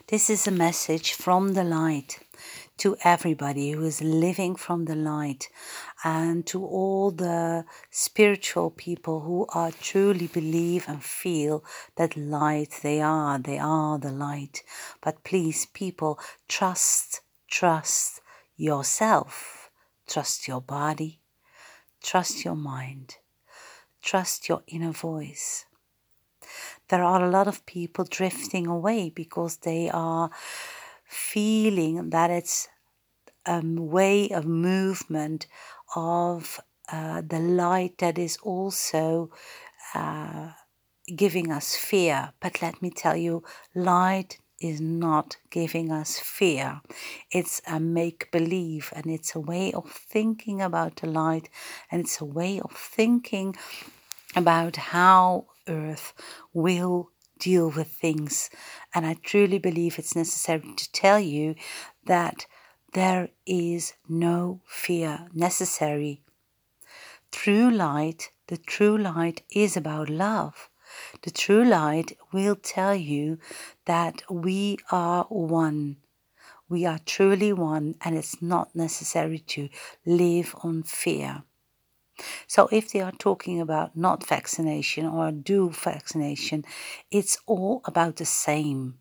This is a message from the light to everybody who is living from the light, and to all the spiritual people who are truly believe and feel that light they are the light. But please, people, trust yourself, trust your body, trust your mind, trust your inner voice. There are a lot of people drifting away because they are feeling that it's a way of movement of the light that is also giving us fear. But let me tell you, light is not giving us fear. It's a make-believe, and it's a way of thinking about the light, and it's a way of thinking about how Earth will deal with things. And I truly believe it's necessary to tell you that there is no fear necessary. True light, the true light is about love. The true light will tell you that we are one. We are truly one, and it's not necessary to live on fear. So if they are talking about not vaccination or do vaccination, it's all about the same.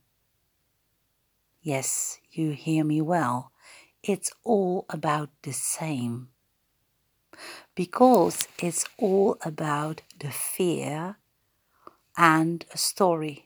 Yes, you hear me well. It's all about the same. Because it's all about the fear and a story.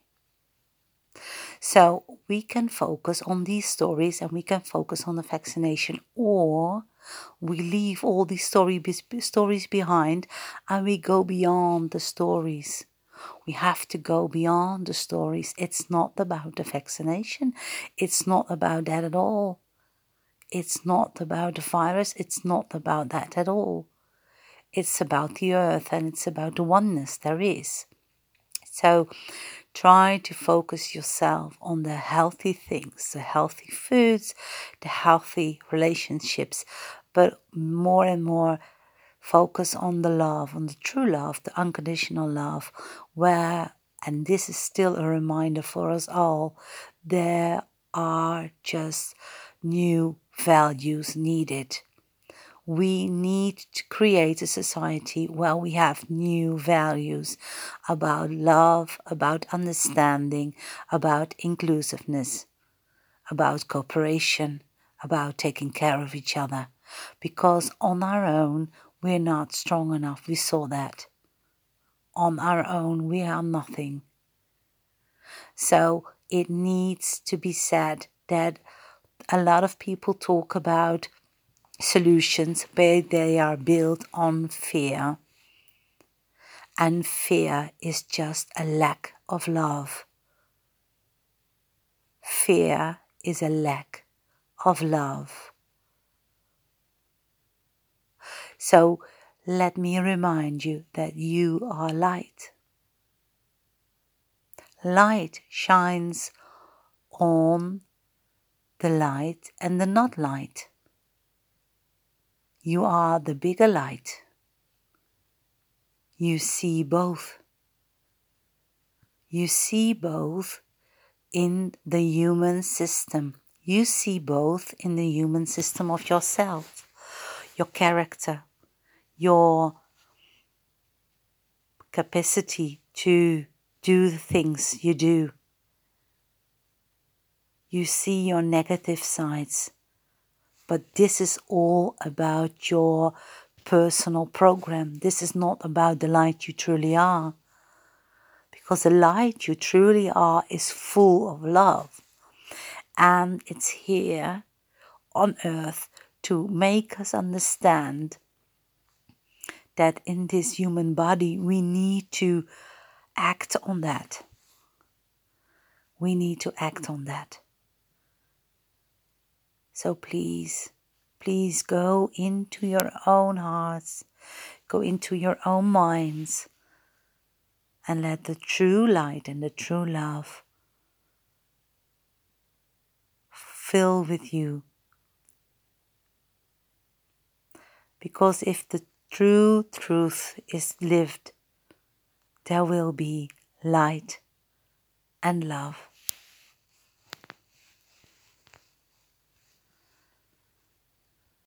So we can focus on these stories, and we can focus on the vaccination, or we leave all these stories behind and we go beyond the stories. We have to go beyond the stories. It's not about the vaccination. It's not about that at all. It's not about the virus. It's not about that at all. It's about the earth, and it's about the oneness there is. So try to focus yourself on the healthy things, the healthy foods, the healthy relationships, but more and more focus on the love, on the true love, the unconditional love, where, and this is still a reminder for us all, there are just new values needed. We need to create a society where we have new values about love, about understanding, about inclusiveness, about cooperation, about taking care of each other. Because on our own, we're not strong enough. We saw that. On our own, we are nothing. So it needs to be said that a lot of people talk about solutions, but they are built on fear. And fear is just a lack of love. Fear is a lack of love. So let me remind you that you are light. Light shines on the light and the not light. You are the bigger light. You see both. You see both in the human system. You see both in the human system of yourself, your character, your capacity to do the things you do. You see your negative sides, but this is all about your personal program. This is not about the light you truly are, because the light you truly are is full of love, and it's here on earth to make us understand that in this human body we need to act on that. We need to act on that. So please go into your own hearts, go into your own minds, and let the true light and the true love fill with you. Because if the true truth is lived, there will be light and love.